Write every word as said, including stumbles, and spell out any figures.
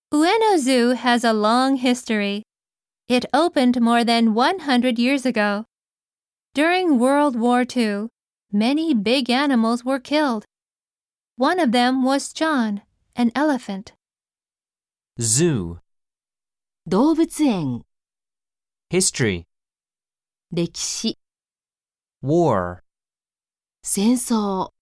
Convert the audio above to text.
Ueno Zoo has a long history. It opened more than one hundred years ago. During World War Two, many big animals were killed. One of them was John, an elephant. Zoo, 動物園、 history, 歴史、 war. 戦争。